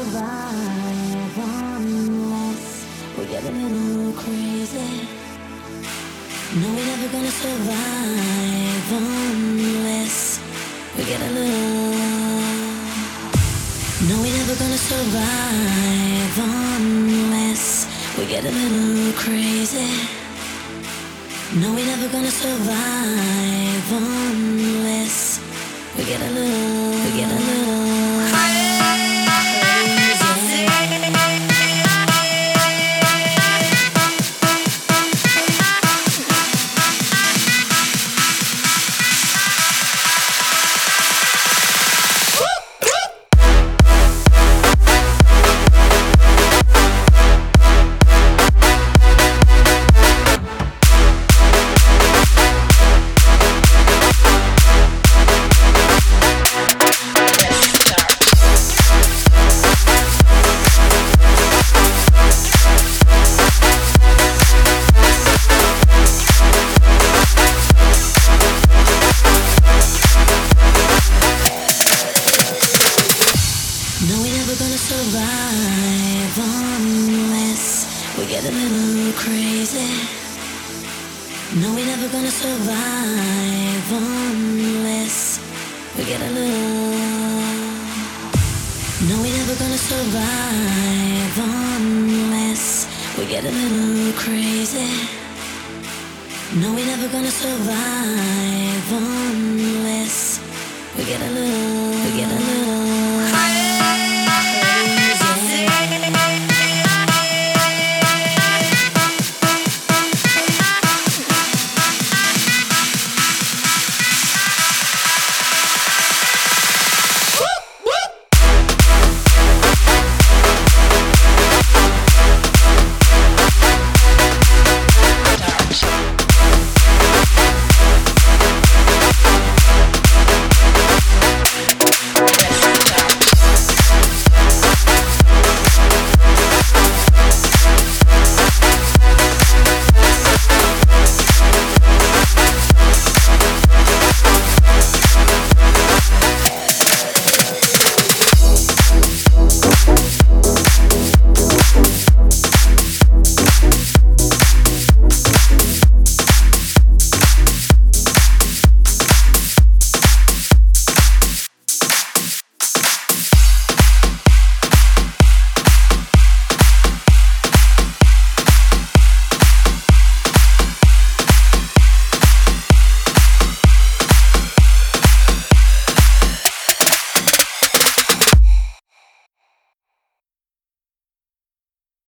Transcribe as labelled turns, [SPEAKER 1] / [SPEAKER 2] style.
[SPEAKER 1] survive unless we get a little crazy. No, we're never gonna survive unless we get a little. No, we're never gonna survive unless we get a little crazy. No, we're never gonna survive unless we get a little crazy. No, we're never gonna survive unless we get a little crazy. No, we're never gonna survive unless we get a little. No, we're never gonna survive unless we get a little crazy. No, we're never gonna survive unless we get a little.